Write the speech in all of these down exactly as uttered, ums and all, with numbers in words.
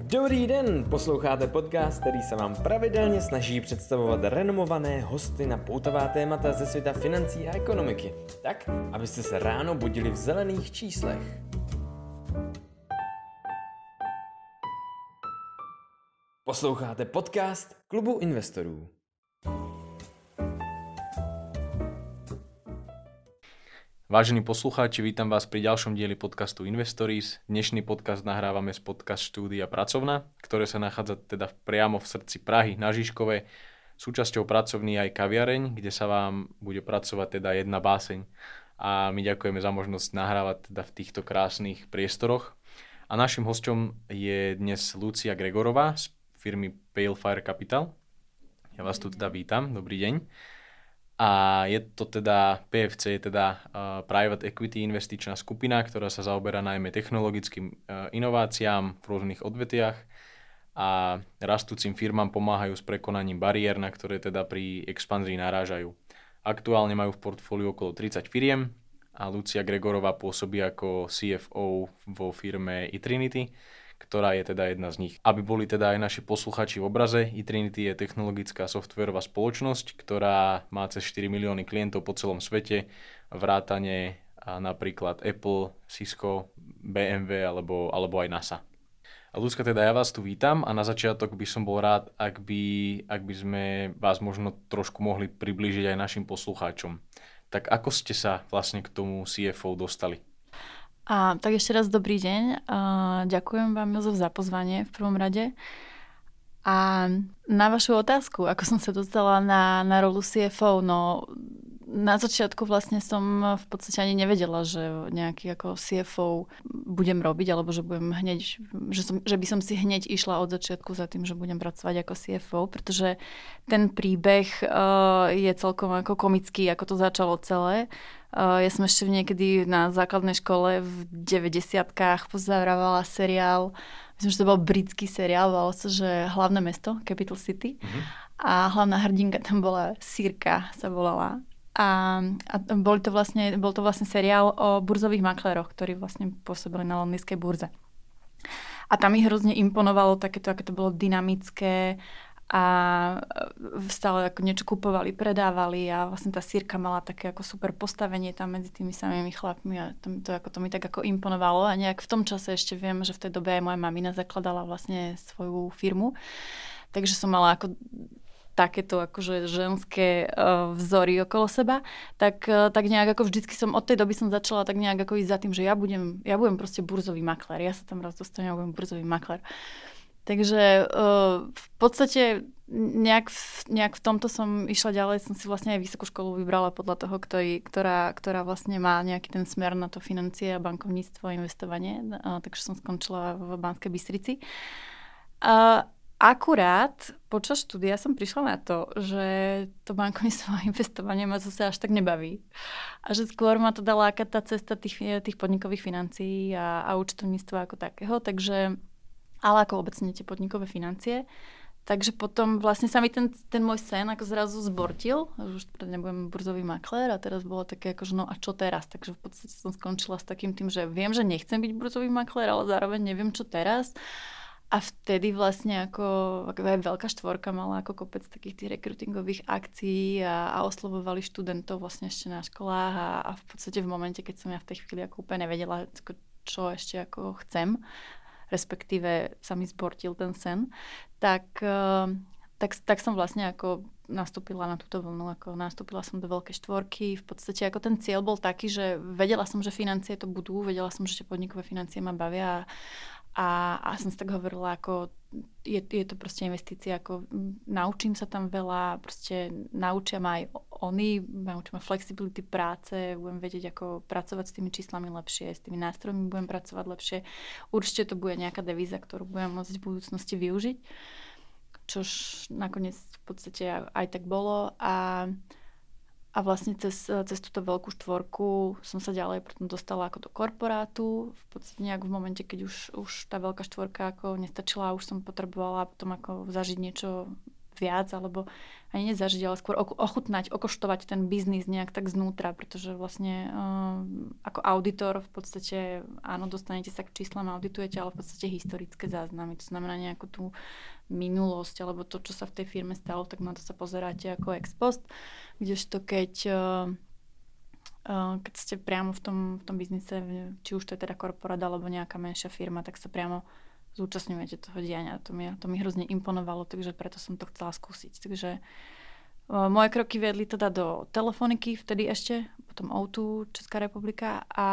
Dobrý den, posloucháte podcast, který se vám pravidelně snaží představovat renomované hosty na poutavá témata ze světa financí a ekonomiky, tak, abyste se ráno budili v zelených číslech. Posloucháte podcast Klubu investorů. Vážení poslucháči, vítam vás pri ďalšom dieli podcastu Investories. Dnešný podcast nahrávame z podcast štúdia Pracovna, ktoré sa nachádza teda priamo v srdci Prahy na Žižkove. Súčasťou pracovní aj kaviareň, kde sa vám bude pracovať teda jedna báseň. A my ďakujeme za možnosť nahrávať teda v týchto krásnych priestoroch. A našim hosťom je dnes Lucia Gregorová z firmy Pale Fire Capital. Ja vás tu teda vítam, dobrý deň. A je to teda, pé ef cé je teda uh, Private Equity investičná skupina, ktorá sa zaoberá najmä technologickým uh, inováciám v rôznych odvetiach a rastúcim firmám pomáhajú s prekonaním bariér, na ktoré teda pri expanzii narážajú. Aktuálne majú v portfóliu okolo tridsať firiem a Lucia Gregorová pôsobí ako sí ef ó vo firme eTrinity, ktorá je teda jedna z nich. Aby boli teda aj naši posluchači v obraze, eTrinity je technologická softvérová spoločnosť, ktorá má cez štyri milióny klientov po celom svete, vrátane napríklad Apple, Cisco, bé em vé alebo, alebo aj NASA. A Lucka, teda ja vás tu vítam a na začiatok by som bol rád, ak by, ak by sme vás možno trošku mohli priblížiť aj našim poslucháčom. Tak ako ste sa vlastne k tomu sí ef ó dostali? A, tak ešte raz dobrý deň. A, ďakujem vám, Jozef, za pozvanie v prvom rade. A na vašu otázku, ako som sa dostala na, na rolu sí ef ó, no na začiatku vlastne som v podstate ani nevedela, že nejaký ako sí ef ó budem robiť, alebo že budem hneď, že, som, že by som si hneď išla od začiatku za tým, že budem pracovať ako sí ef ó, pretože ten príbeh uh, je celkom ako komický, ako to začalo celé. Uh, ja som ešte niekedy na základnej škole v deväťdesiatkach pozeravala seriál, myslím, že to bol britský seriál, volalo sa, že Hlavné mesto, Capital City. Mm-hmm. A hlavná hrdinka tam bola Sirka, sa volala. A, a bol, to vlastne, bol to vlastne seriál o burzových makléroch, ktorí vlastne pôsobili na londýnskej burze. A tam mi hrozne imponovalo takéto, aké to bolo dynamické a stále ako niečo kupovali, predávali a vlastne tá Sirka mala také ako super postavenie tam medzi tými samými chlapmi a to, to, ako, to mi tak ako imponovalo a nejak v tom čase ešte viem, že v tej dobe aj moja mamina zakladala vlastne svoju firmu. Takže som mala ako takéto akože ženské uh, vzory okolo seba, tak, uh, tak nejak ako vždycky som, od tej doby som začala tak nejak ako ísť za tým, že ja budem, ja budem proste burzový maklér. Ja sa tam raz dostanem, ja budem burzový maklér. Takže uh, v podstate nejak v, nejak v tomto som išla ďalej, som si vlastne aj vysokú školu vybrala podľa toho, ktorý, ktorá, ktorá vlastne má nejaký ten smer na to financie a bankovníctvo a investovanie, uh, takže som skončila v Banskej Bystrici. Uh, Akurát počas štúdia som prišla na to, že to bankovníctvo a investovanie ma zase až tak nebaví. A že skôr ma to dala aká tá cesta tých, tých podnikových financií a, a účtovníctva ako takého. Takže, ale ako obecne tie podnikové financie. Takže potom vlastne sa mi ten, ten môj sen ako zrazu zbortil. Už nebudem burzový maklér a teraz bolo také ako, že no a čo teraz? Takže v podstate som skončila s takým tým, že viem, že nechcem byť burzový maklér, ale zároveň neviem, čo teraz. A vtedy vlastne ako, ako aj veľká štvorka mala ako kopec takých tých rekrutingových akcií a, a oslovovali študentov vlastne ešte na školách a, a v podstate v momente, keď som ja v tej chvíli ako úplne nevedela, čo ešte ako chcem, respektíve sa mi zbortil ten sen, tak, tak, tak som vlastne ako nastúpila na túto vlnu, ako nastúpila som do veľkej štvorky. V podstate ako ten cieľ bol taký, že vedela som, že financie to budú, vedela som, že tie podnikové financie ma bavia. A, a som si tak hovorila, ako je, je to proste investícia, ako naučím sa tam veľa, proste naučia ma aj oni, naučia ma flexibility práce, budem vedieť, ako pracovať s tými číslami lepšie, s tými nástrojmi budem pracovať lepšie. Určite to bude nejaká devíza, ktorú budem môcť v budúcnosti využiť, čož nakoniec v podstate aj tak bolo. A A vlastne cez, cez túto veľkú štvorku som sa ďalej potom dostala ako do korporátu. V podstate nejak v momente, keď už, už tá veľká štvorka ako nestačila a už som potrebovala potom ako zažiť niečo viac, alebo ani nezažiť, ale skôr ochutnať, okoštovať ten biznis nejak tak znútra, pretože vlastne uh, ako auditor v podstate, áno, dostanete sa k číslam, auditujete, ale v podstate historické záznamy. To znamená nejakú tú minulosť, alebo to, čo sa v tej firme stalo, tak na to sa pozeráte ako ex post, kdežto keď uh, uh, keď ste priamo v tom, v tom biznise, či už to je teda korporát alebo nejaká menšia firma, tak sa priamo zúčastňujete toho diania. To mi, to mi hrozne imponovalo, takže preto som to chcela skúsiť. Takže uh, moje kroky viedli teda do telefoniky, vtedy ešte, potom ó dva Česká republika a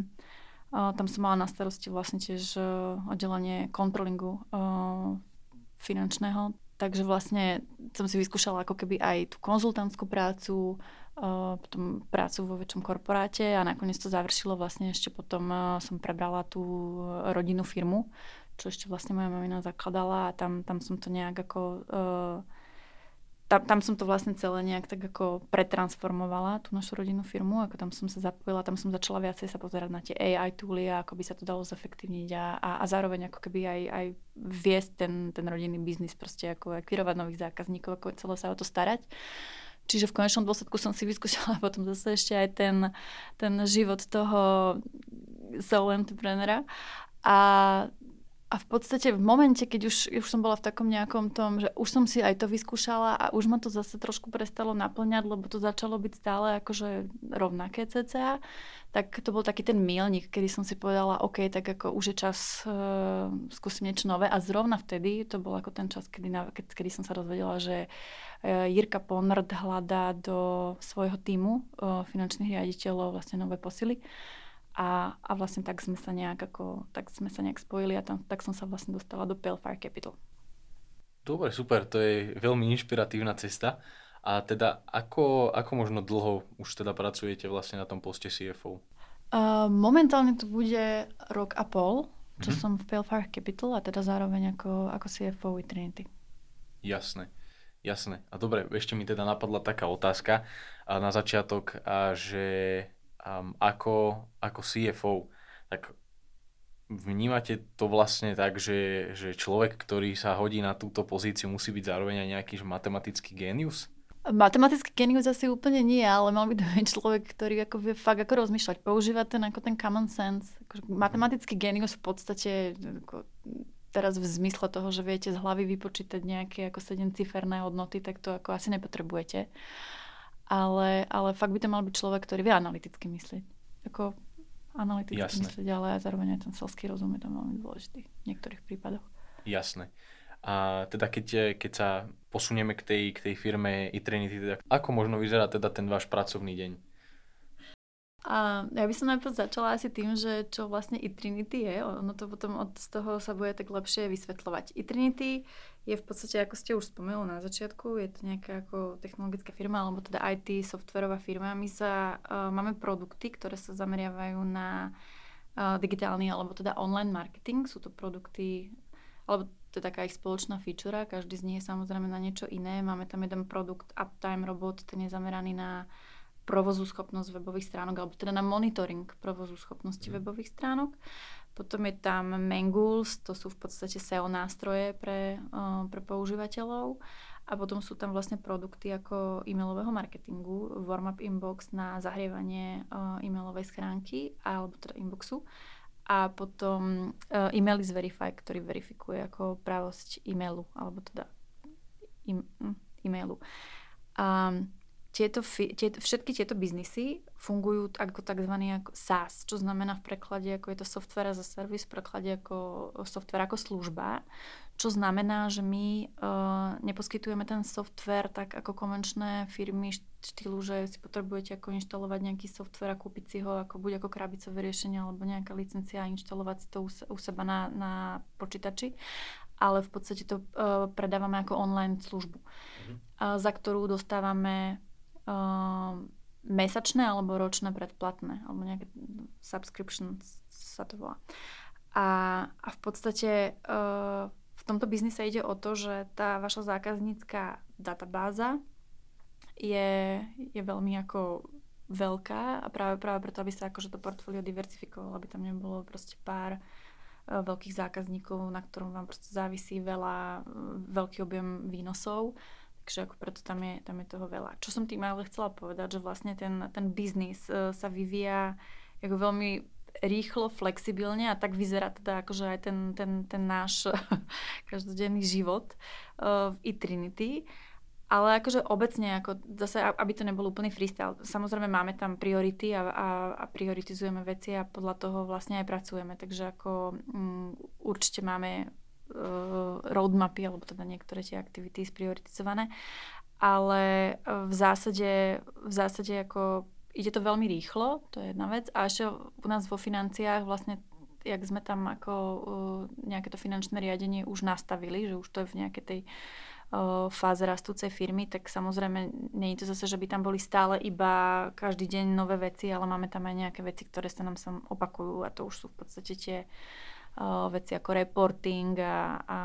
uh, tam som mala na starosti vlastne tiež uh, oddelenie kontrolingu uh, finančného. Takže vlastne som si vyskúšala ako keby aj tú konzultantskú prácu, uh, potom prácu vo väčšom korporáte a nakoniec to završilo vlastne ešte potom uh, som prebrala tú rodinnú firmu, čo ešte vlastne moja mamina zakladala a tam, tam som to nejak ako... Uh, tam, tam som to vlastne celé nejak tak ako pretransformovala, tú našu rodinnú firmu, ako tam som sa zapojila, tam som začala viacej sa pozerať na tie á í tooly a ako by sa to dalo zefektívniť a, a, a zároveň ako keby aj, aj viesť ten, ten rodinný biznis, proste ako akvirovať nových zákazníkov, ako celé sa o to starať. Čiže v konečnom dôsledku som si vyskúšala potom zase ešte aj ten, ten život toho solo entreprenera a A v podstate v momente, keď už, už som bola v takom nejakom tom, že už som si aj to vyskúšala a už ma to zase trošku prestalo naplňať, lebo to začalo byť stále akože rovnaké cca, tak to bol taký ten míľnik, kedy som si povedala, OK, tak ako už je čas uh, skúsim niečo nové a zrovna vtedy, to bol ako ten čas, kedy, na, kedy, kedy som sa dozvedela, že uh, Jirka Ponrd hľadá do svojho tímu uh, finančných riaditeľov vlastne nové posily. A, a vlastne tak sme sa nejak ako, tak sme sa nejak spojili a tam, tak som sa vlastne dostala do Pale Fire Capital. Dobre, super, to je veľmi inšpiratívna cesta. A teda ako, ako možno dlho už teda pracujete vlastne na tom poste C F O? Uh, momentálne to bude rok a pol, čo Mhm. som v Pale Fire Capital a teda zároveň ako, ako C F O Trinity. Jasné, jasné. A dobre, ešte mi teda napadla taká otázka a na začiatok, a že um, ako, ako C F O, tak vnímate to vlastne tak, že, že človek, ktorý sa hodí na túto pozíciu, musí byť zároveň aj nejaký že matematický génius? Matematický genius asi úplne nie, ale mal by to byť človek, ktorý ako vie fakt ako rozmýšľať, používať ten, ako ten common sense. Ako matematický genius v podstate ako teraz v zmysle toho, že viete z hlavy vypočítať nejaké ako sedemciferné hodnoty, tak to ako asi nepotrebujete. Ale, ale fakt by to mal byť človek, ktorý vie analyticky myslieť. Ako analyticky Jasné. myslieť, ale aj zároveň aj ten selský rozum je tam veľmi dôležitý v niektorých prípadoch. Jasné. A teda keď, keď sa posunieme k tej, k tej firme eTrinity, teda ako možno vyzerá teda ten váš pracovný deň? A ja by som najprv začala asi tým, že čo vlastne eTrinity je. Ono to potom od z toho sa bude tak lepšie vysvetľovať. eTrinity je v podstate, ako ste už spomenuli na začiatku, je to nejaká ako technologická firma, alebo teda í té, softwarová firma. My sa, uh, máme produkty, ktoré sa zameriavajú na uh, digitálny, alebo teda online marketing. Sú to produkty, alebo to je taká ich spoločná feature, každý z nich je samozrejme na niečo iné. Máme tam jeden produkt Uptime Robot, ten je zameraný na provozu schopnosť webových stránok, alebo teda na monitoring provozu schopnosti mm. webových stránok. Potom je tam Mangools, to sú v podstate es e o nástroje pre, uh, pre používateľov. A potom sú tam vlastne produkty ako e-mailového marketingu, Warm-up Inbox na zahrievanie uh, e-mailovej schránky, alebo teda inboxu. A potom uh, Email is Verify, ktorý verifikuje ako pravosť e-mailu, alebo teda e- e-mailu. Um, Tieto, tieto, všetky tieto biznisy fungujú ako tzv. Ako SaaS, čo znamená v preklade, ako je to software as a service, v preklade ako software ako služba, čo znamená, že my uh, neposkytujeme ten software tak ako konvenčné firmy štýlu, že si potrebujete ako inštalovať nejaký software a kúpiť si ho ako buď ako krabicové riešenie alebo nejaká licencia a inštalovať si to u, u seba na, na počítači, ale v podstate to uh, predávame ako online službu, mhm. uh, za ktorú dostávame Uh, mesačné alebo ročné predplatné, alebo nejaké subscription sa to volá. A, a v podstate uh, v tomto biznise ide o to, že tá vaša zákaznícka databáza je, je veľmi ako veľká a práve, práve preto, aby sa akože to portfólio diverzifikovalo, aby tam nebolo proste pár veľkých zákazníkov, na ktorom vám proste závisí veľa, veľký objem výnosov. Takže ako preto tam je, tam je toho veľa. Čo som tým ale chcela povedať, že vlastne ten, ten biznis sa vyvíja ako veľmi rýchlo, flexibilne a tak vyzerá teda akože aj ten, ten, ten náš každodenný život v eTrinity. Ale akože obecne, ako zase, aby to nebol úplný freestyle, samozrejme máme tam priority a, a, a prioritizujeme veci a podľa toho vlastne aj pracujeme. Takže ako um, určite máme uh, roadmapy, alebo teda niektoré tie aktivity sprioritizované, ale v zásade, v zásade ako ide to veľmi rýchlo, to je jedna vec. A ešte u nás vo financiách vlastne, jak sme tam ako uh, nejaké to finančné riadenie už nastavili, že už to je v nejakej tej fáze rastúcej firmy, tak samozrejme nie je to zase, že by tam boli stále iba každý deň nové veci, ale máme tam aj nejaké veci, ktoré sa nám sam opakujú a to už sú v podstate tie uh, veci ako reporting a, a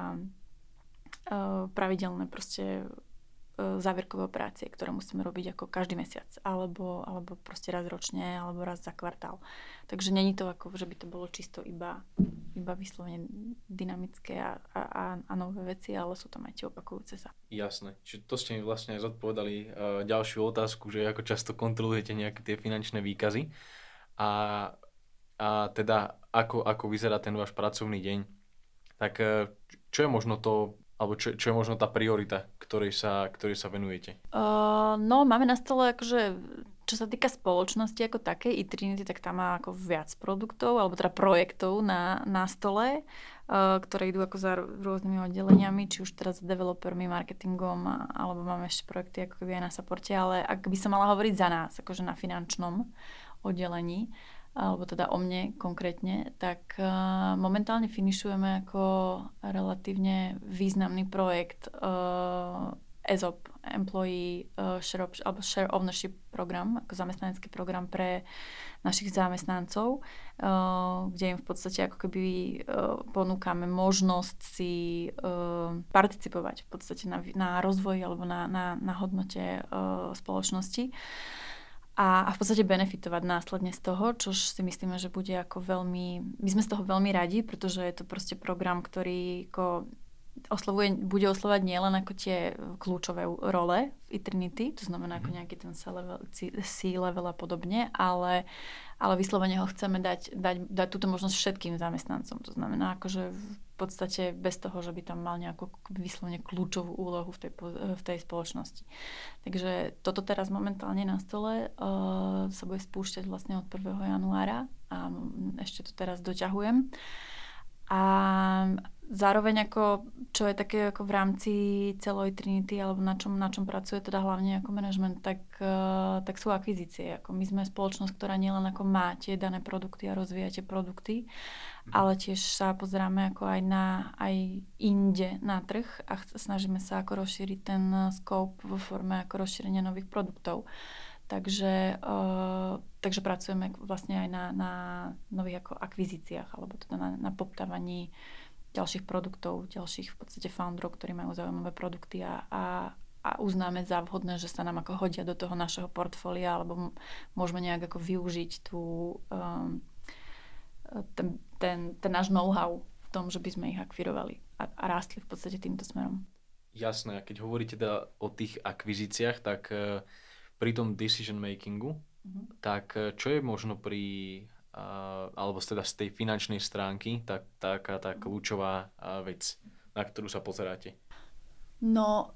uh, pravidelné proste uh, záverkové operácie, ktoré musíme robiť ako každý mesiac, alebo, alebo proste raz ročne, alebo raz za kvartál. Takže není to ako, že by to bolo čisto iba, iba vyslovene dynamické a, a, a nové veci, ale sú tam aj tie opakujúce sa. Jasné. Čiže to ste mi vlastne aj zodpovedali uh, ďalšiu otázku, že ako často kontrolujete nejaké tie finančné výkazy a, a teda ako, ako vyzerá ten váš pracovný deň. Tak uh, čo je možno to, alebo čo, čo je možno tá priorita, ktorej sa, ktorej sa venujete? Uh, no, máme na stole akože čo sa týka spoločnosti ako takej, eTrinity, tak tam má ako viac produktov, alebo teda projektov na, na stole, uh, ktoré idú ako za rôznymi oddeleniami, či už teraz s developermi, marketingom, alebo máme ešte projekty ako keby aj na supporte, ale ak by som mala hovoriť za nás, akože na finančnom oddelení, alebo teda o mne konkrétne, tak uh, momentálne finišujeme ako relatívne významný projekt uh, E S O P, Employee uh, share, op- alebo share Ownership program, ako zamestnanecký program pre našich zamestnancov, uh, kde im v podstate ako keby uh, ponúkame možnosť si uh, participovať v podstate na, na rozvoji alebo na, na, na hodnote uh, spoločnosti a, a v podstate benefitovať následne z toho, čo si myslíme, že bude ako veľmi, my sme z toho veľmi radi, pretože je to proste program, ktorý ako oslovuje, bude oslovať nielen ako tie kľúčové role v eTrinity, to znamená ako nejaký ten C-level a podobne, ale, ale vyslovene ho chceme dať, dať, dať túto možnosť všetkým zamestnancom. To znamená akože v podstate bez toho, že by tam mal nejakú vyslovene kľúčovú úlohu v tej, v tej spoločnosti. Takže toto teraz momentálne na stole uh, sa bude spúšťať vlastne od prvého januára a ešte to teraz doťahujem. A zároveň ako, čo je také ako v rámci celej Trinity alebo na čom, na čom pracuje teda hlavne ako manažment, tak, uh, tak sú akvizície. Ako my sme spoločnosť, ktorá nielen ako má tie dané produkty a rozvíja tie produkty, mm. ale tiež sa pozeráme ako aj na aj inde na trh a ch- snažíme sa ako rozšíriť ten scope vo forme ako rozšírenia nových produktov. Takže, uh, takže pracujeme vlastne aj na, na nových ako akvizíciách alebo teda na, na poptávaní ďalších produktov, ďalších v podstate founderov, ktorí majú zaujímavé produkty a, a, a uznáme za vhodné, že sa nám ako hodia do toho našeho portfólia alebo môžeme nejak ako využiť tú, um, ten, ten, ten náš know-how v tom, že by sme ich akvirovali a, a rástli v podstate týmto smerom. Jasné, a keď hovoríte teda o tých akvizíciách, tak uh, pri tom decision makingu, mm-hmm. tak čo je možno pri, uh, alebo teda z tej finančnej stránky, tak, taká tá kľúčová uh, vec, na ktorú sa pozeráte? No,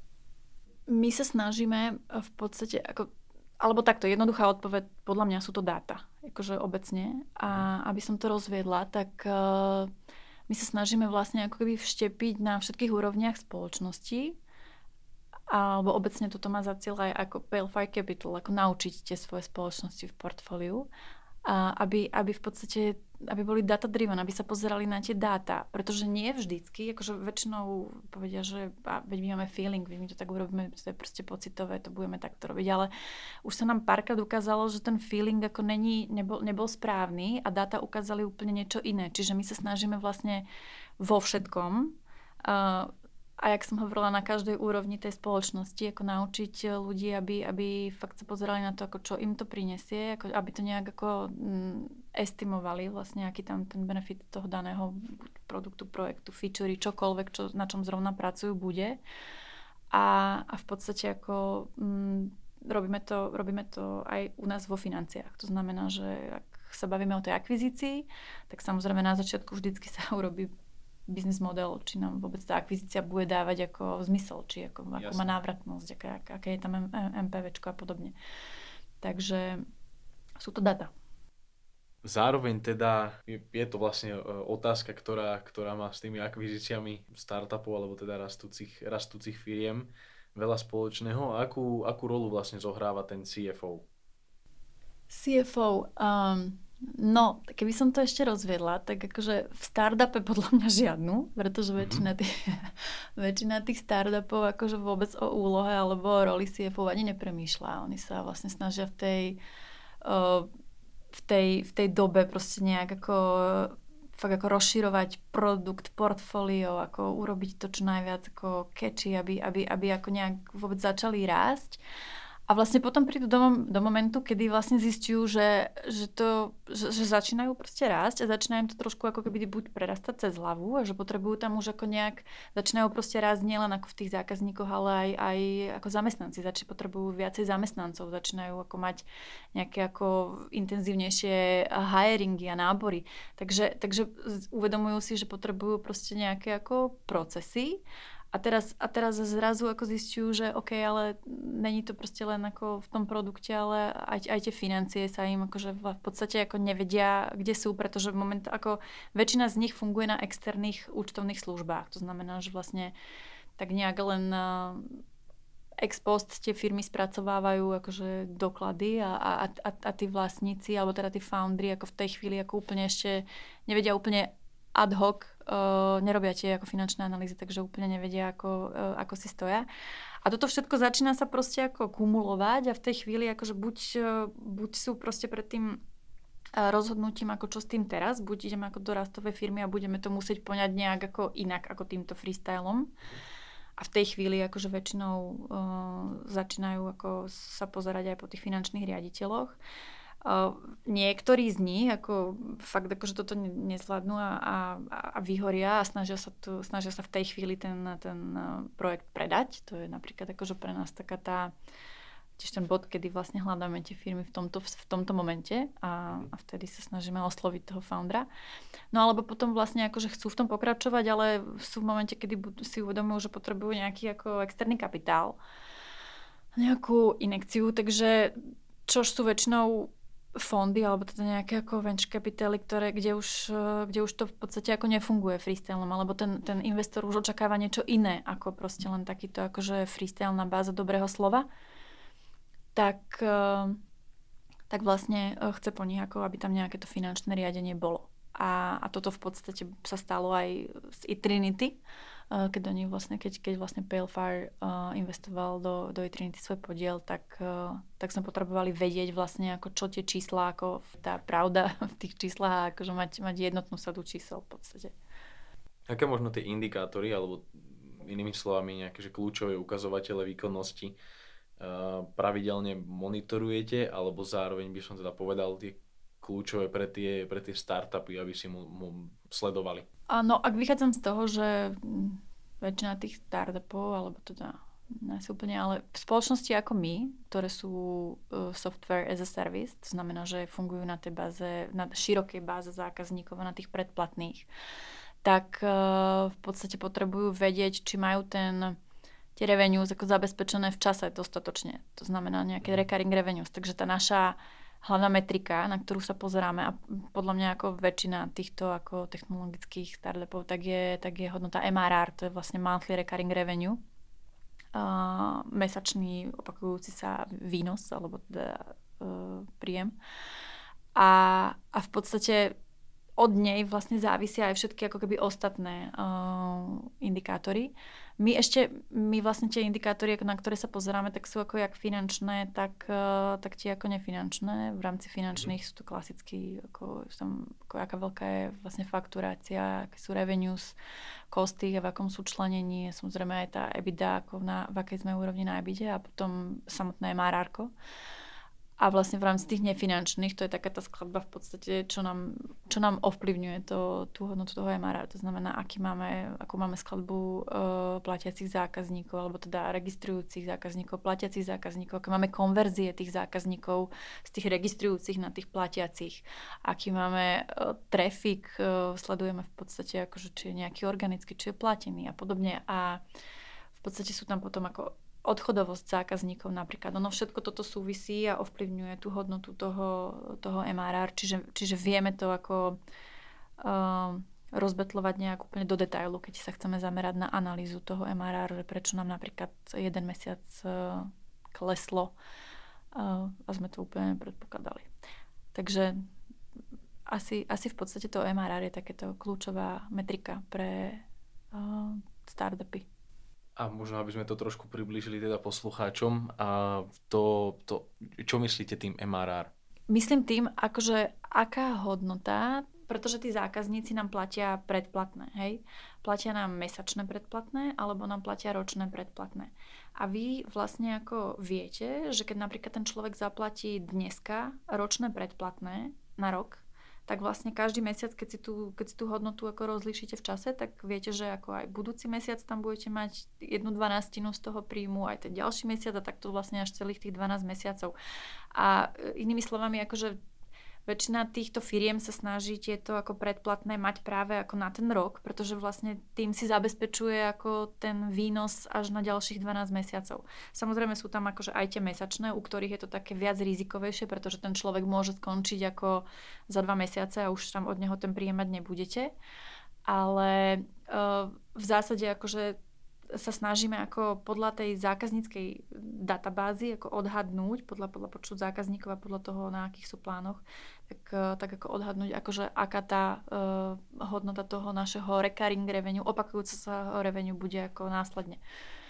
my sa snažíme v podstate, ako, alebo takto, jednoduchá odpoveď, podľa mňa sú to dáta, akože obecne. A aby som to rozviedla, tak uh, my sa snažíme vlastne ako keby vštepiť na všetkých úrovniach spoločnosti, alebo obecne toto má za cieľ aj ako Palefy Capital, ako naučiť tie svoje spoločnosti v portfóliu, a aby, aby v podstate aby boli data driven, aby sa pozerali na tie dáta, pretože nie vždycky, akože väčšinou povedia, že a, veď my máme feeling, my to tak urobíme, to je proste pocitové, to budeme takto robiť, ale už sa nám párkrát ukázalo, že ten feeling ako není, nebol, nebol správny a dáta ukázali úplne niečo iné, čiže my sa snažíme vlastne vo všetkom uh, a jak som hovorila, na každej úrovni tej spoločnosti, ako naučiť ľudí, aby, aby fakt sa pozerali na to, ako čo im to prinesie, ako, aby to nejak ako mm, estimovali vlastne, aký tam ten benefit toho daného produktu, projektu, featurey, čokoľvek, čo, na čom zrovna pracujú, bude. A, a v podstate ako mm, robíme, to, robíme to aj u nás vo financiách. To znamená, že ak sa bavíme o tej akvizícii, tak samozrejme na začiatku vždycky sa urobí biznis model, či nám vôbec tá akvizícia bude dávať ako zmysel, či ako, ako má návratnosť, aké, aké je tam MPVčko a podobne. Takže sú to data. Zároveň teda je, je to vlastne otázka, ktorá, ktorá má s tými akvizíciami startupov alebo teda rastúcich, rastúcich firiem veľa spoločného. Akú, akú rolu vlastne zohráva ten C F O? C F O, um, no, keby som to ešte rozviedla, tak akože v startupe podľa mňa žiadnu, pretože mm-hmm. väčšina, tých, väčšina tých startupov akože vôbec o úlohe alebo o roli C F O ani nepremýšľa. Oni sa vlastne snažia v tej uh, v tej, v tej dobe proste nejak ako fakt ako rozširovať produkt, portfólio, ako urobiť to čo najviac ako catchy, aby, aby, aby ako nejak vôbec začali rásť. A vlastne potom prídu do, do momentu, kedy vlastne zistujú, že, že, to, že, že začínajú proste rásť a začínajú im to trošku ako keby buď prerastať cez hlavu a že potrebujú tam už ako nejak, začínajú proste rásť nielen ako v tých zákazníkoch, ale aj, aj ako zamestnanci. Začínajú potrebujú viacej zamestnancov, začínajú ako mať nejaké ako intenzívnejšie hiringy a nábory. Takže, takže uvedomujú si, že potrebujú proste nejaké ako procesy. A teraz, a teraz zrazu ako zistujú, že OK, ale není to proste len ako v tom produkte, ale aj, aj tie financie sa im akože v podstate ako nevedia, kde sú, pretože moment, ako väčšina z nich funguje na externých účtovných službách. To znamená, že vlastne tak nejak len ex post tie firmy spracovávajú akože doklady a, a, a, a tí vlastníci, alebo teda tí foundry ako v tej chvíli ako úplne ešte nevedia úplne ad hoc, uh, nerobia tie ako finančné analýzy, takže úplne nevedia, ako, uh, ako si stoja. A toto všetko začína sa proste ako kumulovať a v tej chvíli akože buď, uh, buď sú proste pred tým uh, rozhodnutím, ako čo s tým teraz, buď ideme ako do rastovej firmy a budeme to musieť poňať nejak ako inak, ako týmto freestylom. A v tej chvíli akože väčšinou uh, začínajú ako sa pozerať aj po tých finančných riaditeľoch. Uh, niektorí z nich ako fakt akože toto nezvládnu a, a, a vyhoria a snažia sa, tu, snažia sa v tej chvíli ten, ten projekt predať. To je napríklad akože pre nás taká tá tiež ten bod, kedy vlastne hľadáme tie firmy v tomto, v tomto momente a, a vtedy sa snažíme osloviť toho foundera. No alebo potom vlastne akože chcú v tom pokračovať, ale sú v momente, kedy si uvedomujú, že potrebujú nejaký ako externý kapitál, nejakú injekciu, takže čo sú väčšinou fondy, alebo teda nejaké ako venture capitaly, ktoré, kde, už, kde už to v podstate ako nefunguje freestylom, alebo ten, ten investor už očakáva niečo iné, ako proste len takýto akože freestyle na báze dobrého slova, tak, tak vlastne chce po nich, ako aby tam nejaké to finančné riadenie bolo. A, a toto v podstate sa stalo aj z eTrinity, keď oni vlastne, keď, keď vlastne Pale Fire uh, investoval do, do eTrinity svoj podiel, tak, uh, tak sme potrebovali vedieť vlastne, ako čo tie čísla, ako tá pravda v tých číslach, akože mať, mať jednotnú sadu čísel v podstate. Aké možno tie indikátory, alebo inými slovami nejaké že kľúčové ukazovatele výkonnosti uh, pravidelne monitorujete, alebo zároveň by som teda povedal tie kľúčové pre tie, pre tie startupy, aby si mu, mu sledovali? No, ak vychádzam z toho, že väčšina tých startupov, alebo teda nie sú úplne, ale v spoločnosti ako my, ktoré sú uh, software as a service, to znamená, že fungujú na tej báze, na širokej báze zákazníkov, na tých predplatných, tak uh, v podstate potrebujú vedieť, či majú ten tie revenues ako zabezpečené v čase dostatočne. To znamená nejaké recurring revenues. Takže tá naša hlavná metrika, na ktorú sa pozeráme a podľa mňa ako väčšina týchto ako technologických startupov, tak je, tak je hodnota M R R, to je vlastne monthly recurring revenue, uh, mesačný opakujúci sa výnos, alebo teda uh, príjem. A, a v podstate od nej vlastne závisia aj všetky ako keby ostatné uh, indikátory. My ešte, my vlastne tie indikátory, na ktoré sa pozeráme, tak sú ako jak finančné, tak, uh, tak tie ako nefinančné. V rámci finančných sú to klasicky, ako, tam, ako aká veľká je vlastne fakturácia, aké sú revenues, costy, v akom sú členení, samozrejme aj tá EBITDA, ako na, v akej sme úrovni na EBITDA a potom samotné M R R-ko. A vlastne v rámci tých nefinančných, to je taká tá skladba v podstate, čo nám, čo nám ovplyvňuje to, tú hodnotu toho em er er. To znamená, aký máme, akú máme skladbu uh, platiacich zákazníkov, alebo teda registrujúcich zákazníkov, platiacich zákazníkov, aké máme konverzie tých zákazníkov z tých registrujúcich na tých platiacich, aký máme uh, trafik, uh, sledujeme v podstate, akože, či je nejaký organický, či je platený a podobne. A v podstate sú tam potom ako odchodovosť zákazníkov napríklad. Ono všetko toto súvisí a ovplyvňuje tú hodnotu toho, toho em er er, čiže, čiže vieme to ako uh, rozbetľovať nejak úplne do detailu, keď sa chceme zamerať na analýzu toho em er er, že prečo nám napríklad jeden mesiac uh, kleslo uh, a sme to úplne predpokladali. Takže asi, asi v podstate to em er er je takéto kľúčová metrika pre uh, startupy. A možno, aby sme to trošku priblížili teda poslucháčom, a to, to, čo myslíte tým em er er? Myslím tým, akože aká hodnota, pretože tí zákazníci nám platia predplatné, hej? Platia nám mesačné predplatné, alebo nám platia ročné predplatné. A vy vlastne ako viete, že keď napríklad ten človek zaplatí dneska ročné predplatné na rok, tak vlastne každý mesiac, keď si tú, keď si tú hodnotu ako rozlíšite v čase, tak viete, že ako aj budúci mesiac tam budete mať jednu dvanástinu z toho príjmu, aj ten ďalší mesiac a takto vlastne až celých tých dvanásť mesiacov. A inými slovami, akože väčšina týchto firiem sa snaží tieto ako predplatné mať práve ako na ten rok, pretože vlastne tým si zabezpečuje ako ten výnos až na ďalších dvanásť mesiacov. Samozrejme sú tam akože aj tie mesačné, u ktorých je to také viac rizikovejšie, pretože ten človek môže skončiť ako za dva mesiace a už tam od neho ten príjem mať nebudete. Ale uh, v zásade akože sa snažíme ako podľa tej zákazníckej databázy ako odhadnúť, podľa, podľa počtu zákazníkov a podľa toho, na akých sú plánoch, tak, tak ako odhadnúť, akože aká tá uh, hodnota toho našeho recurring revenue, opakujúca sa revenue bude ako následne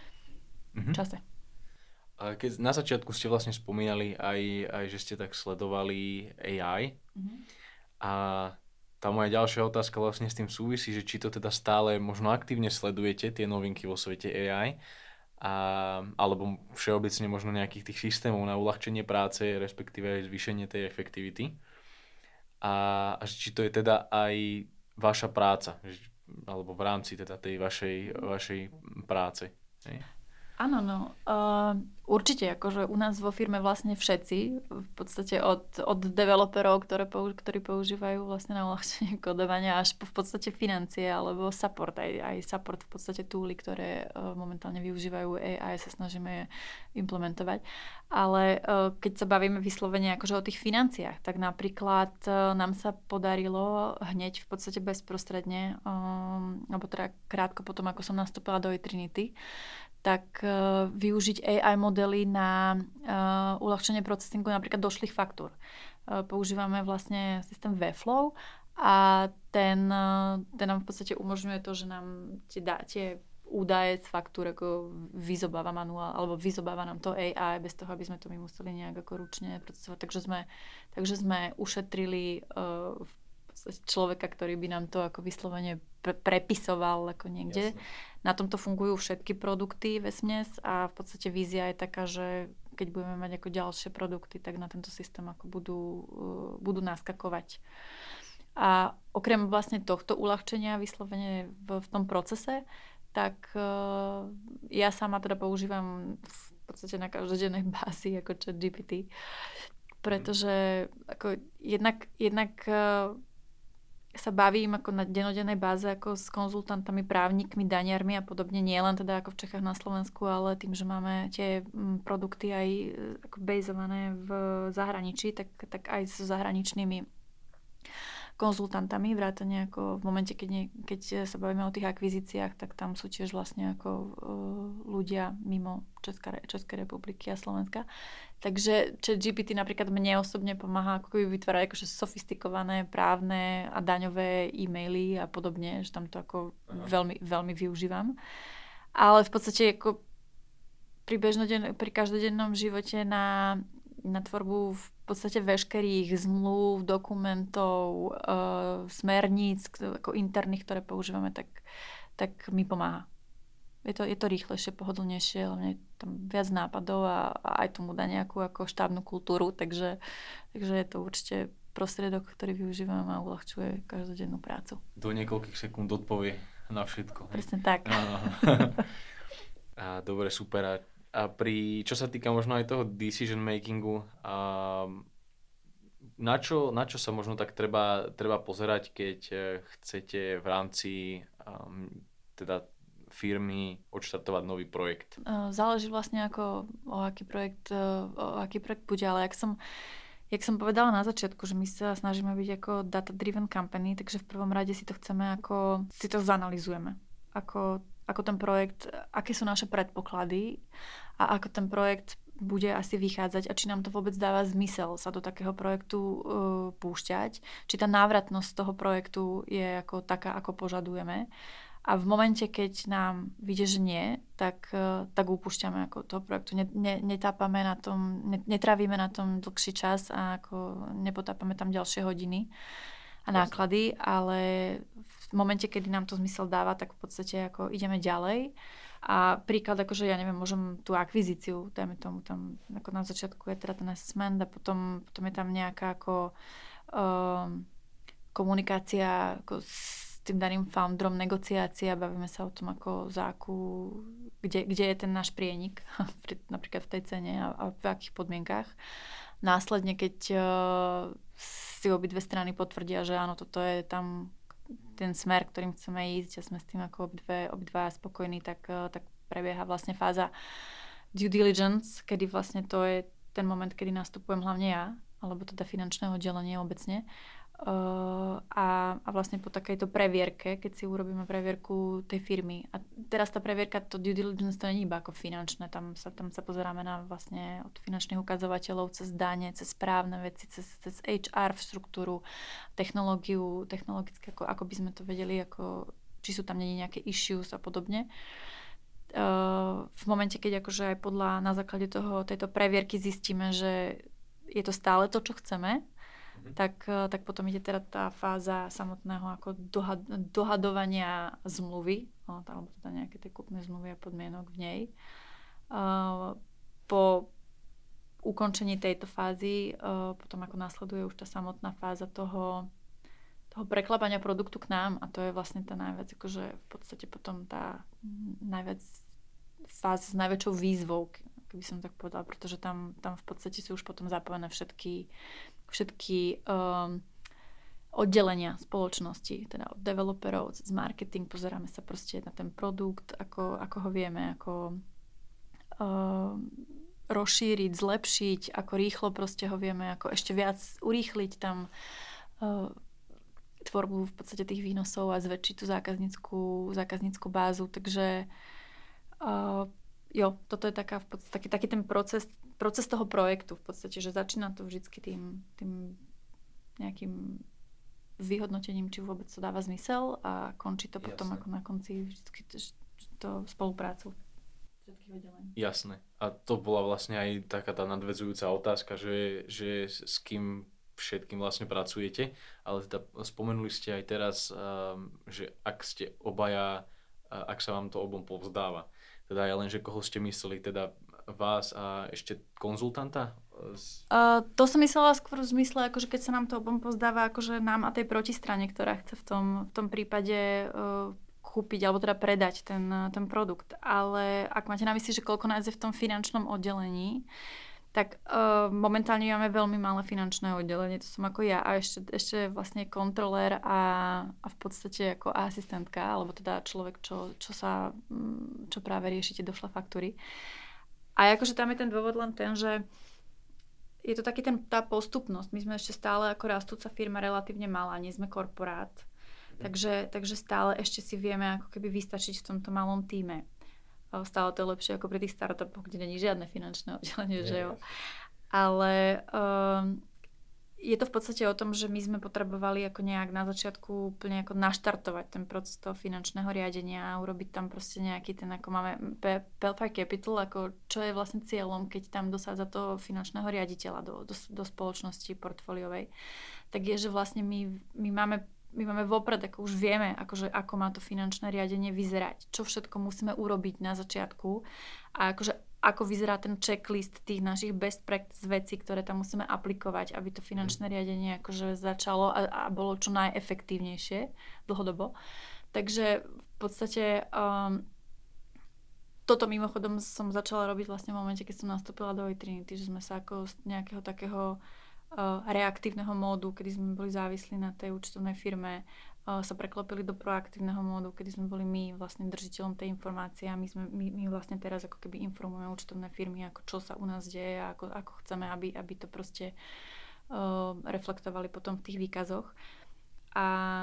v čase. A keď na začiatku ste vlastne spomínali aj, aj že ste tak sledovali á í mm-hmm. a tá moja ďalšia otázka vlastne s tým súvisí, že či to teda stále možno aktívne sledujete tie novinky vo svete á í, a, alebo všeobecne možno nejakých tých systémov na uľahčenie práce, respektíve aj zvýšenie tej efektivity. A, a či to je teda aj vaša práca, alebo v rámci teda tej vašej, vašej práce. Hej? Áno, no. Uh, určite, akože u nás vo firme vlastne všetci, v podstate od, od developerov, ktoré použ- ktorí používajú vlastne na uľahčenie kodovania, až po v podstate financie, alebo support, aj, aj support v podstate túly, ktoré uh, momentálne využívajú á í, sa snažíme implementovať. Ale uh, keď sa bavíme vyslovene akože o tých financiách, tak napríklad uh, nám sa podarilo hneď v podstate bezprostredne, um, alebo teda krátko potom, ako som nastúpila do eTrinity, tak uh, využiť á í modely na uh, uľahčenie procesingu napríklad došlých faktúr. Uh, používame vlastne systém Webflow a ten, uh, ten nám v podstate umožňuje to, že nám tie, tie údaje z faktúr ako vyzobáva manuál, alebo vyzobáva nám to á í bez toho, aby sme to my museli nejak ako ručne procesovať. Takže sme, takže sme ušetrili uh, v človeka, ktorý by nám to ako vyslovene pre- prepisoval ako niekde. Jasne. Na tomto fungujú všetky produkty vesměs a v podstate vízia je taká, že keď budeme mať ako ďalšie produkty, tak na tento systém ako budú, uh, budú naskakovať. A okrem vlastne tohto uľahčenia vyslovene v, v tom procese, tak uh, ja sama teda používam v podstate na každodennej bázi ako ChatGPT, pretože ako jednak, jednak uh, sa bavím ako na dennodennej báze ako s konzultantami, právnikmi, daniarmi a podobne, nie len teda ako v Čechách na Slovensku, ale tým, že máme tie produkty aj ako bazované v zahraničí, tak, tak aj so zahraničnými konzultantami, vrátane ako v momente, keď, nie, keď sa bavíme o tých akvizíciách, tak tam sú tiež vlastne ako uh, ľudia mimo Česká, Českej republiky a Slovenska. Takže ChatGPT napríklad mne osobne pomáha ako vytvárať akože sofistikované právne a daňové e-maily a podobne, že tam to ako veľmi, veľmi využívam. Ale v podstate ako pri, bežnoden- pri každodennom živote na, na tvorbu v podstate veškerých zmluv, dokumentov, uh, smerníc ako interných, ktoré používame, tak, tak mi pomáha. je to, je to rýchlejšie, pohodlnejšie, hlavne tam viac nápadov a, a aj tomu dá nejakú ako štábnu kultúru, takže, takže je to určite prostriedok, ktorý využívam a uľahčuje každodennú prácu. Do niekoľkých sekúnd odpovie na všetko. Presne tak. A, dobre, super. A, a pri, čo sa týka možno aj toho decision makingu, a na čo, na čo sa možno tak treba, treba pozerať, keď chcete v rámci um, teda firmy odštartovať nový projekt? Záleží vlastne ako o aký projekt, o aký projekt bude, ale jak som Jak som povedala na začiatku, že my sa snažíme byť ako data-driven company, takže v prvom rade si to chceme ako, si to zanalizujeme. Ako, ako ten projekt, aké sú naše predpoklady a ako ten projekt bude asi vychádzať a či nám to vôbec dáva zmysel sa do takého projektu uh, púšťať, či tá návratnosť toho projektu je ako taká, ako požadujeme. A v momente, keď nám vyjde, že nie, tak, tak upúšťame ako toho projektu. Ne, ne, netápame na tom, ne, netrávime na tom dlhší čas a ako nepotápame tam ďalšie hodiny a náklady, ale v momente, kedy nám to zmysel dáva, tak v podstate ako ideme ďalej. A príklad, akože ja neviem, môžem tú akvizíciu, dajme tomu tam, ako na začiatku je teda ten assessment a potom, potom je tam nejaká ako um, komunikácia ako s tým daným founderom, negociácia, bavíme sa o tom, ako za akú, kde, kde je ten náš prienik, napríklad v tej cene a, a v akých podmienkách. Následne, keď uh, si obidve strany potvrdia, že áno, toto je tam ten smer, ktorým chceme ísť a sme s tým ako obidve, obidva spokojní, tak, uh, tak prebieha vlastne fáza due diligence, kedy vlastne to je ten moment, kedy nastupujem hlavne ja, alebo teda finančné oddelenie obecne. Uh, a, a vlastne po takejto previerke, keď si urobíme previerku tej firmy. A teraz tá previerka, to due diligence, to nie je iba ako finančné, tam sa, tam sa pozeráme na vlastne od finančných ukazovateľov cez dane, cez správne veci, cez, cez há er v štruktúru, technológiu, technologické, ako, ako by sme to vedeli, ako, či sú tam nie nejaké issues a podobne. Uh, v momente, keď akože aj podľa, na základe toho, tejto previerky zistíme, že je to stále to, čo chceme, Tak, tak potom ide teda tá fáza samotného ako dohad, dohadovania zmluvy, alebo teda nejaké tie kúpne zmluvy a podmienok v nej. Uh, po ukončení tejto fázy uh, potom ako následuje už tá samotná fáza toho, toho preklapania produktu k nám a to je vlastne tá najviac, akože v podstate potom tá najviac fáza s najväčšou výzvou, keby som tak povedala, pretože tam, tam v podstate sú už potom zapojené všetky všetky um, oddelenia spoločnosti, teda od developerov, z marketing, pozeráme sa proste na ten produkt, ako, ako ho vieme, ako um, rozšíriť, zlepšiť, ako rýchlo proste ho vieme, ako ešte viac urýchliť tam uh, tvorbu v podstate tých výnosov a zväčšiť tú zákaznícku, zákaznícku bázu, takže uh, jo, toto je taká v podstate, taký, taký ten proces, proces toho projektu v podstate, že začína to vždycky tým, tým nejakým vyhodnotením, či vôbec to dáva zmysel a končí to potom Jasné. Ako na konci vždycky to, to spoluprácu všetkých oddelení. Jasné. A to bola vlastne aj taká tá nadväzujúca otázka, že, že s kým všetkým vlastne pracujete, ale teda spomenuli ste aj teraz, že ak ste obaja, ak sa vám to obom povzdáva, teda ja len, že koho ste mysleli, teda vás a ešte konzultanta? Uh, to som myslela skôr v zmysle, akože keď sa nám to obom pozdáva, akože nám a tej protistrane, ktorá chce v tom, v tom prípade uh, kúpiť alebo teda predať ten, ten produkt. Ale ak máte na mysli, že koľko nás je v tom finančnom oddelení, tak uh, momentálne máme veľmi malé finančné oddelenie, to som ako ja a ešte, ešte vlastne kontrolér a, a v podstate ako asistentka, alebo teda človek, čo, čo sa, čo práve riešite došla faktúry. A akože tam je ten dôvod len ten, že je to taký ten, tá postupnosť. My sme ešte stále ako rastúca firma relatívne malá, nie sme korporát, mm. takže, takže stále ešte si vieme ako keby vystačiť v tomto malom tíme. Stále to je lepšie ako pri tých startupoch, kde není žiadne finančné oddelenie, že jo. Ale um, je to v podstate o tom, že my sme potrebovali ako nejak na začiatku úplne ako naštartovať ten proces toho finančného riadenia a urobiť tam proste nejaký ten, ako máme Pelfire Capital, ako čo je vlastne cieľom, keď tam dosádza toho finančného riaditeľa do, do, do spoločnosti portfóliovej, tak je, že vlastne my, my máme my máme vopred, ako už vieme, akože, ako má to finančné riadenie vyzerať, čo všetko musíme urobiť na začiatku a akože, ako vyzerá ten checklist tých našich best practice vecí, ktoré tam musíme aplikovať, aby to finančné riadenie akože začalo a, a bolo čo najefektívnejšie dlhodobo. Takže v podstate um, toto mimochodom som začala robiť vlastne v momente, keď som nastúpila do Trinity, že sme sa ako z nejakého takého uh, reaktívneho módu, kedy sme boli závislí na tej účtovnej firme, uh, sa preklopili do proaktívneho módu, kedy sme boli my vlastne držiteľom tej informácie a my, sme, my, my vlastne teraz ako keby informujeme účtovné firmy, ako čo sa u nás deje a ako, ako chceme, aby, aby to proste uh, reflektovali potom v tých výkazoch. A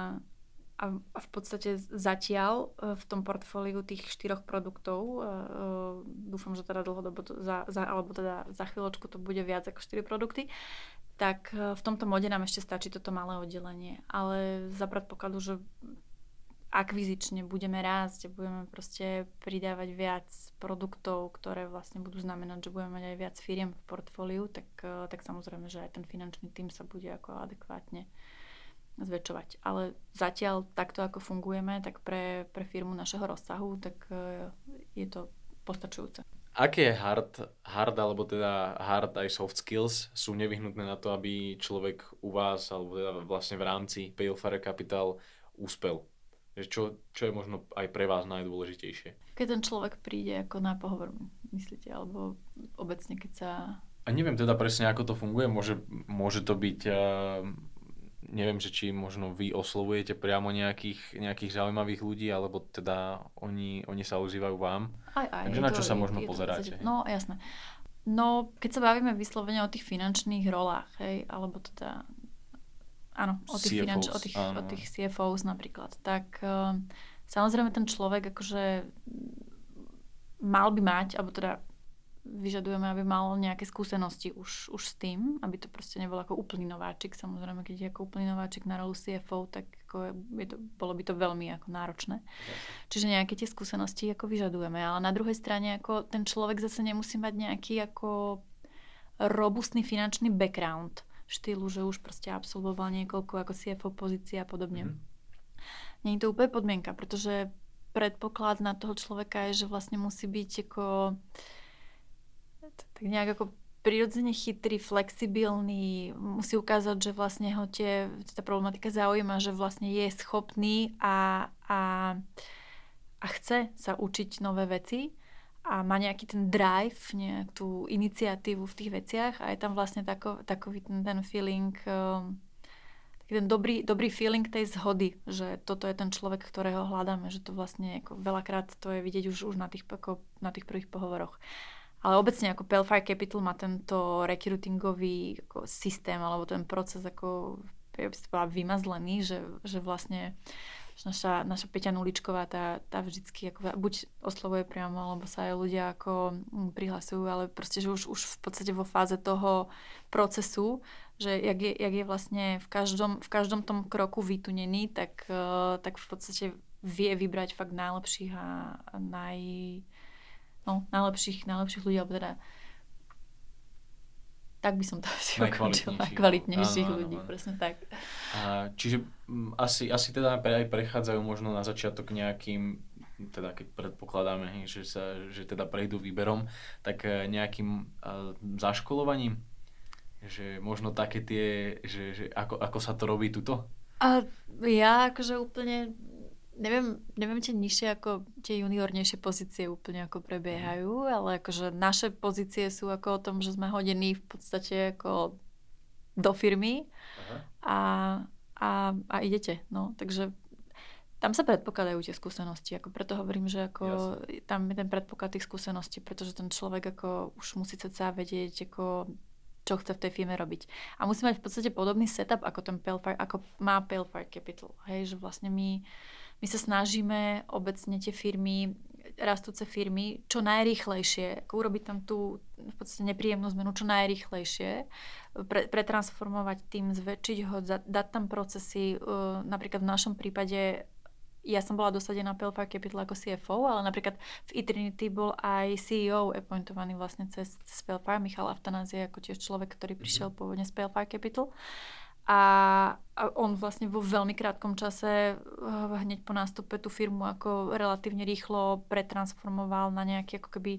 A v podstate zatiaľ v tom portfóliu tých štyroch produktov, dúfam, že teda dlhodobo, to za, za, alebo teda za chvíľočku to bude viac ako štyri produkty, tak v tomto mode nám ešte stačí toto malé oddelenie. Ale za predpokladu, že akvizične budeme rásť a budeme proste pridávať viac produktov, ktoré vlastne budú znamenať, že budeme mať aj viac firiem v portfóliu, tak, tak samozrejme, že aj ten finančný tím sa bude ako adekvátne zväčšovať. Ale zatiaľ takto, ako fungujeme, tak pre, pre firmu našeho rozsahu, tak je to postačujúce. Aké hard, hard, alebo teda hard aj soft skills sú nevyhnutné na to, aby človek u vás, alebo teda vlastne v rámci PayFire Capital úspel? Čo, čo je možno aj pre vás najdôležitejšie? Keď ten človek príde ako na pohovor, myslíte? Alebo obecne, keď sa... A neviem teda presne, ako to funguje. Môže, môže to byť... Uh... Neviem, že či možno vy oslovujete priamo nejakých, nejakých zaujímavých ľudí, alebo teda oni, oni sa ozývajú vám. Aj, aj. Takže na čo to, sa možno je, pozeráte? Je to, no, jasné. No, keď sa bavíme vyslovene o tých finančných rolách, hej, alebo teda, áno, o tých, finanč, o tých, o tých C F Os napríklad, tak um, samozrejme ten človek akože mal by mať, alebo teda vyžadujeme, aby mal nejaké skúsenosti už, už s tým, aby to proste nebol ako úplný nováčik. Samozrejme, keď je ako úplný nováčik na rolu C F O, tak ako je to, bolo by to veľmi ako náročné. Čiže nejaké tie skúsenosti ako vyžadujeme. Ale na druhej strane ako ten človek zase nemusí mať nejaký ako robustný finančný background štýlu, že už proste absolvoval niekoľko ako C F O pozícií a podobne. Mm-hmm. Nie je to úplne podmienka, pretože predpoklad na toho človeka je, že vlastne musí byť ako tak nejak ako prirodzene chytrý, flexibilný, musí ukázať, že vlastne ho tie, tá problematika zaujíma, že vlastne je schopný a, a, a chce sa učiť nové veci a má nejaký ten drive, nejakú tú iniciatívu v tých veciach a je tam vlastne tako, takový ten, ten feeling, um, taký ten dobrý, dobrý feeling tej zhody, že toto je ten človek, ktorého hľadáme, že to vlastne ako veľakrát to je vidieť už, už na, tých, ako, na tých prvých pohovoroch. Ale obecne ako PayFire Capital má tento recruitingový ako systém alebo ten proces ako ja by som bola vymazlený, že, že vlastne že naša, naša Peťa Nuličková tá, tá vždycky ako buď oslovuje priamo, alebo sa aj ľudia ako prihlasujú, ale proste, že už, už v podstate vo fáze toho procesu, že jak je, jak je vlastne v každom, v každom tom kroku vytunený, tak, tak v podstate vie vybrať fakt najlepších a, a naj... No, najlepších, najlepších ľudí, alebo teda tak by som to asi ukončila. Najkvalitnejších ľudí, áno. Presne tak. A, čiže m, asi, asi teda aj prechádzajú možno na začiatok nejakým, teda keď predpokladáme, že, sa, že teda prejdú výberom, tak nejakým a, zaškolovaním? Že možno také tie, že, že ako, ako sa to robí tuto? A ja akože úplne Neviem, neviem, či nižšie ako tie juniornejšie pozície úplne ako prebiehajú, ale akože naše pozície sú ako o tom, že sme hodení v podstate ako do firmy a, a, a idete. No, takže tam sa predpokladajú tie skúsenosti. Ako preto hovorím, že ako tam je ten predpoklad tých skúseností, pretože ten človek ako už musí sa vedieť, ako čo chce v tej firme robiť. A musí mať v podstate podobný setup ako ten PayFire, ako má PayFire Capital. Hej, že vlastne my My sa snažíme obecne tie firmy, rastúce firmy, čo najrýchlejšie, ako urobiť tam tú v podstate nepríjemnú zmenu, čo najrýchlejšie, pre, pretransformovať tým, zväčšiť ho, dať tam procesy. Napríklad v našom prípade, ja som bola dosadená PayFire Capital ako C F O, ale napríklad v eTrinity bol aj C E O appointovaný vlastne cez, cez PayFire, Michal Aftanázie, ako tiež človek, ktorý prišiel pôvodne z PayFire Capital. A, a on vlastne vo veľmi krátkom čase hneď po nástupe tú firmu ako relatívne rýchlo pretransformoval na nejaký ako keby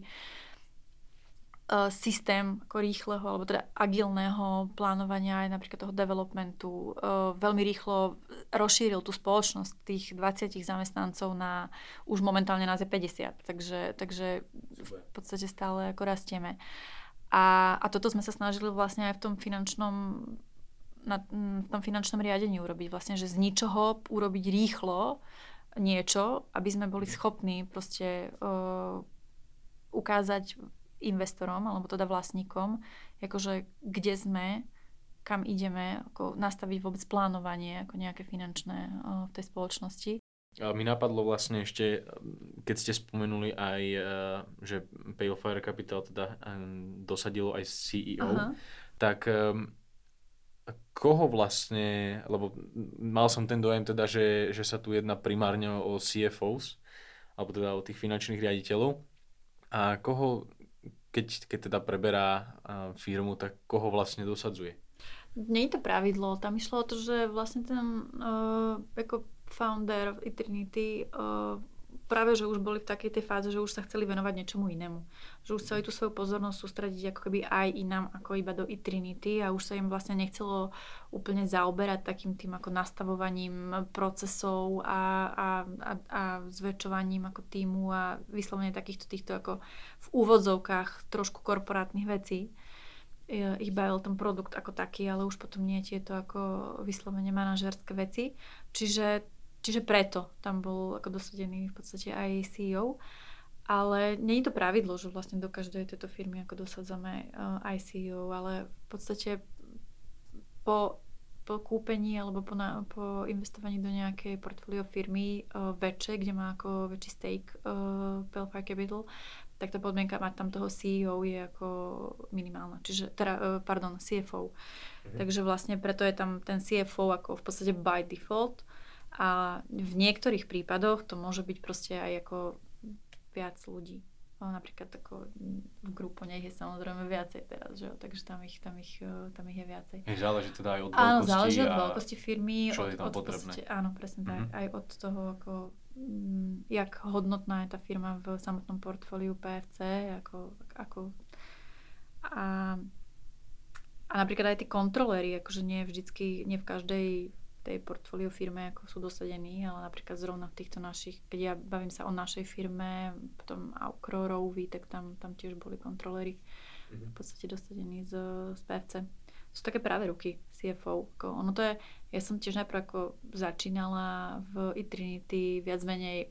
systém ako rýchleho, alebo teda agilného plánovania aj napríklad toho developmentu. Veľmi rýchlo rozšíril tú spoločnosť tých dvadsať zamestnancov na už momentálne nás je päťdesiat. Takže, takže v podstate stále ako rastieme. A, a toto sme sa snažili vlastne aj v tom finančnom na, v tom finančnom riadení urobiť. Vlastne, že z ničoho urobiť rýchlo niečo, aby sme boli schopní proste uh, ukázať investorom, alebo teda vlastníkom, akože kde sme, kam ideme, ako nastaviť vôbec plánovanie, ako nejaké finančné uh, v tej spoločnosti. A mi napadlo vlastne ešte, keď ste spomenuli aj, uh, že Pale Fire Capital teda um, dosadilo aj C E O, aha, tak um, koho vlastne, lebo mal som ten dojem teda, že, že sa tu jedná primárne o C F Os, alebo teda o tých finančných riaditeľov, a koho Keď, keď teda preberá uh, firmu, tak koho vlastne dosadzuje? Nie je to pravidlo. Tam išlo o to, že vlastne ten uh, ako founder Eternity uh, práve, že už boli v takej tej fáze, že už sa chceli venovať niečomu inému. Že už chceli tú svoju pozornosť sústrediť ako keby aj inám, ako iba do Eternity, a už sa im vlastne nechcelo úplne zaoberať takým tým ako nastavovaním procesov a, a, a, a zväčšovaním ako týmu a vyslovene takýchto týchto ako v úvodzovkách trošku korporátnych vecí. Ich bavil ten produkt ako taký, ale už potom nie tieto ako vyslovene manažerské veci. Čiže Čiže preto tam bol ako dosadený v podstate aj C E O. Ale nie je to pravidlo, že vlastne do každej tejto firmy ako dosadzame uh, aj C E O, ale v podstate po, po kúpení alebo po, na, po investovaní do nejakej portfólio firmy uh, väčšej, kde má ako väčší stake uh, Pale Fire Capital, tak tá podmienka mať tam toho C E O je ako minimálna. Čiže, teda, uh, pardon, C F O. Mhm. Takže vlastne preto je tam ten C F O ako v podstate by default. A v niektorých prípadoch to môže byť proste aj ako viac ľudí. No, napríklad ako v grupu nech je samozrejme viacej teraz, že? Takže tam ich, tam, ich, tam ich je viacej. Záleží teda aj od veľkosti. Áno, záleží od a veľkosti firmy. Čo od, je tam od potrebné. Podstate, áno, presne mm-hmm. tak. Aj od toho, ako, m, jak hodnotná je tá firma v samotnom portfóliu P F C. Ako, ako, a, a napríklad aj tí kontroléri, akože nie vždycky, nie v každej tej portfólio firme ako sú dosadení, ale napríklad zrovna v týchto našich, keď ja bavím sa o našej firme, potom Aukrorový, tak tam, tam tiež boli kontroléri mm-hmm. v podstate dosadení z, z P F C. Sú také práve ruky C F O. Ako, ono to je, ja som tiež najprv ako začínala v Eternity viac menej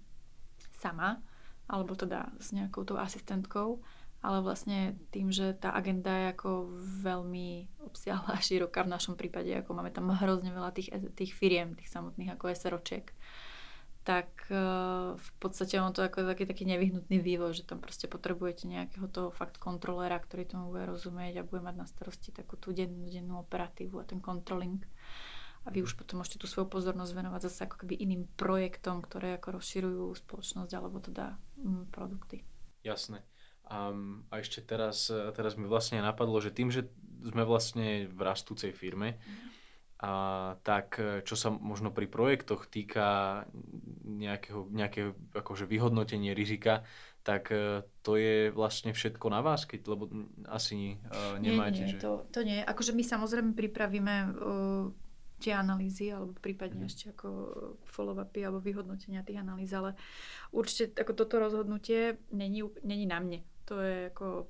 sama, alebo teda s nejakou tou asistentkou, ale vlastne tým, že tá agenda je ako veľmi obsiahla a široká v našom prípade, ako máme tam hrozne veľa tých, tých firiem, tých samotných ako SROčiek, tak uh, v podstate ono to ako taký, taký nevyhnutný vývoj, že tam proste potrebujete nejakého toho fakt kontrolera, ktorý tomu bude rozumieť a bude mať na starosti takú tú dennú, dennú operatívu a ten controlling. A vy už potom môžete tú svoju pozornosť venovať zase ako keby iným projektom, ktoré ako rozširujú spoločnosť alebo teda mm, produkty. Jasné. Um, a ešte teraz, teraz mi vlastne napadlo, že tým, že sme vlastne v rastúcej firme, mm. a tak čo sa možno pri projektoch týka nejakého, nejakého akože vyhodnotenie rizika, tak to je vlastne všetko na vás, keď, lebo asi uh, nemáte. Nie, nie, že... to, to nie. Akože my samozrejme pripravíme uh, tie analýzy, alebo prípadne mm. ešte ako follow-upy alebo vyhodnotenia tých analýz, ale určite ako toto rozhodnutie není, není na mne. To je ako...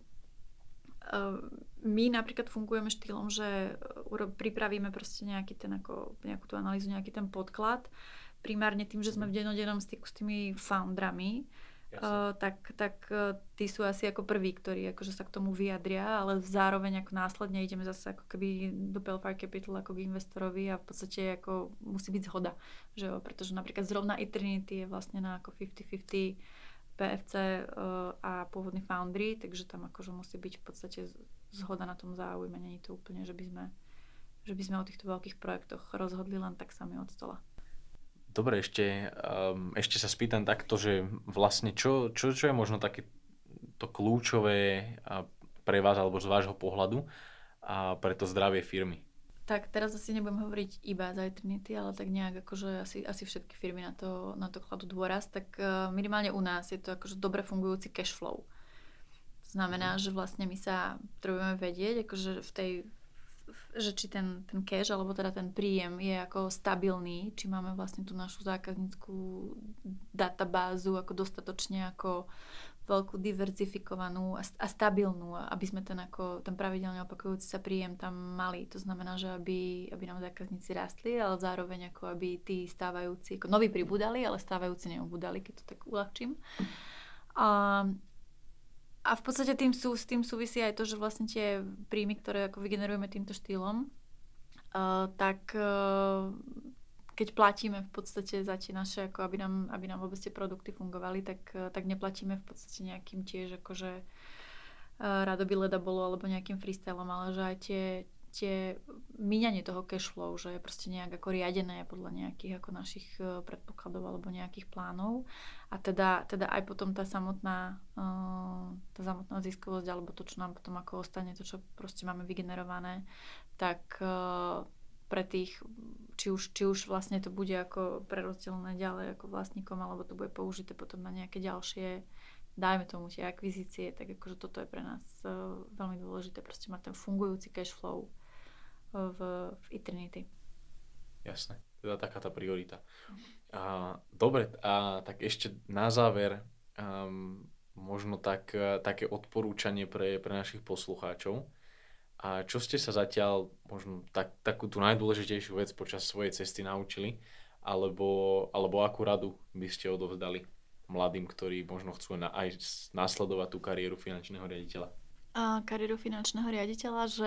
Uh, my napríklad fungujeme štýlom, že uro, pripravíme proste nejaký ten ako, nejakú tú analýzu, nejaký ten podklad. Primárne tým, že sme v dennodennom styku s tými foundrami, uh, tak, tak uh, tí sú asi ako prví, ktorí akože sa k tomu vyjadria, ale zároveň ako následne ideme zase ako keby do Pale Fire Capital ako k investorovi a v podstate ako musí byť zhoda. Že jo? Pretože napríklad zrovna Eternity je vlastne na ako päťdesiat päťdesiat P F C uh, a pôvodný foundry, takže tam akože musí byť v podstate zhoda na tom záujme. Není to úplne, že by sme, že by sme o týchto veľkých projektoch rozhodli len tak sami od stola. Dobre, ešte, um, ešte sa spýtam takto, že vlastne čo, čo, čo je možno také to kľúčové pre vás alebo z vášho pohľadu a pre to zdravie firmy? Tak teraz asi nebudem hovoriť iba za Eternity, ale tak nejak akože asi, asi všetky firmy na to, na to kladú dôraz, tak uh, minimálne u nás je to akože dobre fungujúci cash flow. To znamená, že vlastne my sa potrebujeme vedieť, akože v tej, že či ten, ten cash, alebo teda ten príjem je ako stabilný, či máme vlastne tú našu zákazníckú databázu ako dostatočne ako veľkú diverzifikovanú a, a stabilnú, aby sme ten, ako, ten pravidelne opakujúci sa príjem tam mali. To znamená, že aby, aby nám zákazníci rastli, ale zároveň ako aby tí stávajúci, ako noví pribudali, ale stávajúci neubudali, keď to tak uľahčím. A, a v podstate tým sú, s tým súvisí aj to, že vlastne tie príjmy, ktoré ako vygenerujeme týmto štýlom, uh, tak uh, keď platíme v podstate za tie naše, ako aby nám, aby nám vôbec tie produkty fungovali, tak, tak neplatíme v podstate nejakým tiež akože uh, radoby leda bolo alebo nejakým freestylom, ale že aj tie, tie míňanie toho cashflow, že je proste nejak ako riadené podľa nejakých ako našich uh, predpokladov alebo nejakých plánov. A teda, teda aj potom tá samotná, uh, tá samotná ziskovosť alebo to, čo nám potom ako ostane, to, čo proste máme vygenerované, tak uh, pre tých, či už, či už vlastne to bude ako prerozdelené ďalej ako vlastníkom, alebo to bude použité potom na nejaké ďalšie, dajme tomu tie akvizície, tak akože toto je pre nás uh, veľmi dôležité, proste mať ten fungujúci cash flow uh, v, v Eternity. Jasné, teda taká tá priorita. A, dobre, a tak ešte na záver um, možno tak, také odporúčanie pre, pre našich poslucháčov. A čo ste sa zatiaľ, možno tak, takú tú najdôležitejšiu vec počas svojej cesty naučili, alebo, alebo akú radu by ste odovzdali mladým, ktorí možno chcú na, aj nasledovať tú kariéru finančného riaditeľa? A kariéru finančného riaditeľa, že,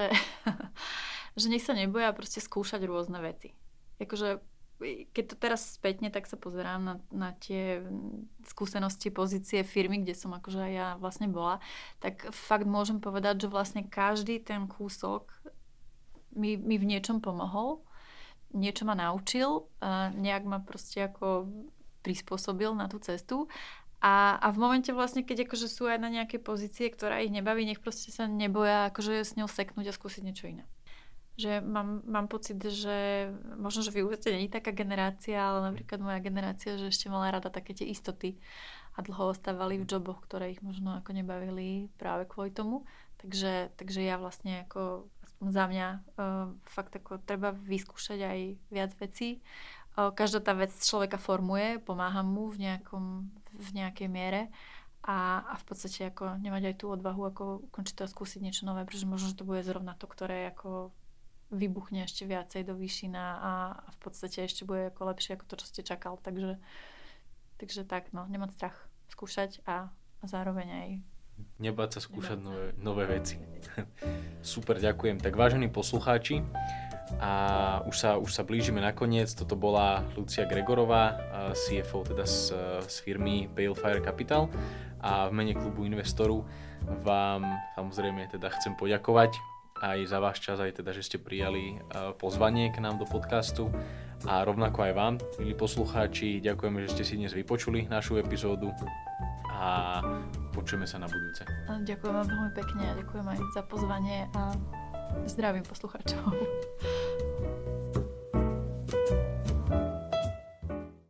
že nech sa neboja proste skúšať rôzne veci. Akože keď to teraz spätne, tak sa pozerám na, na tie skúsenosti, pozície firmy, kde som akože aj ja vlastne bola, tak fakt môžem povedať, že vlastne každý ten kúsok mi, mi v niečom pomohol, niečo ma naučil, a nejak ma proste ako prispôsobil na tú cestu. A, a v momente vlastne, keď akože sú aj na nejaké pozície, ktorá ich nebaví, nech proste sa neboja akože s ňou seknúť a skúsiť niečo iné. Že mám, mám pocit, že možno, že vy určite nie je taká generácia, ale napríklad moja generácia, že ešte mala rada také tie istoty a dlho ostávali v joboch, ktoré ich možno ako nebavili práve kvôli tomu. Takže, takže ja vlastne ako aspoň za mňa uh, fakt ako treba vyskúšať aj viac vecí. Uh, každá tá vec človeka formuje, pomáha mu v, nejakom, v nejakej miere a, a v podstate ako nemať aj tú odvahu ako končiť to a skúsiť niečo nové, pretože možno, že to bude zrovna to, ktoré ako vybuchne ešte viacej do výšina a v podstate ešte bude ako lepšie ako to, čo ste čakal. Takže, takže tak, no, nemať strach, skúšať a, a zároveň aj nebáť sa skúšať nebáť. Nové, nové veci. Super, ďakujem. Tak vážení poslucháči, a už sa, už sa blížime na koniec. Toto bola Lucia Gregorová, C F O teda z, z firmy Balefire Capital, a v mene klubu investorov vám samozrejme teda chcem poďakovať aj za váš čas, aj teda, že ste prijali pozvanie k nám do podcastu, a rovnako aj vám, milí poslucháči, ďakujeme, že ste si dnes vypočuli našu epizódu a počujeme sa na budúce. Ďakujem vám veľmi pekne a ďakujem aj za pozvanie a zdravím poslucháčov.